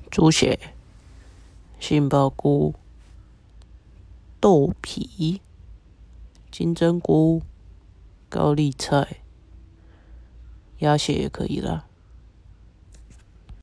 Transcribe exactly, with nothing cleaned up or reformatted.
猪血、杏鲍菇、豆皮、金针菇、高丽菜、鸭血也可以啦。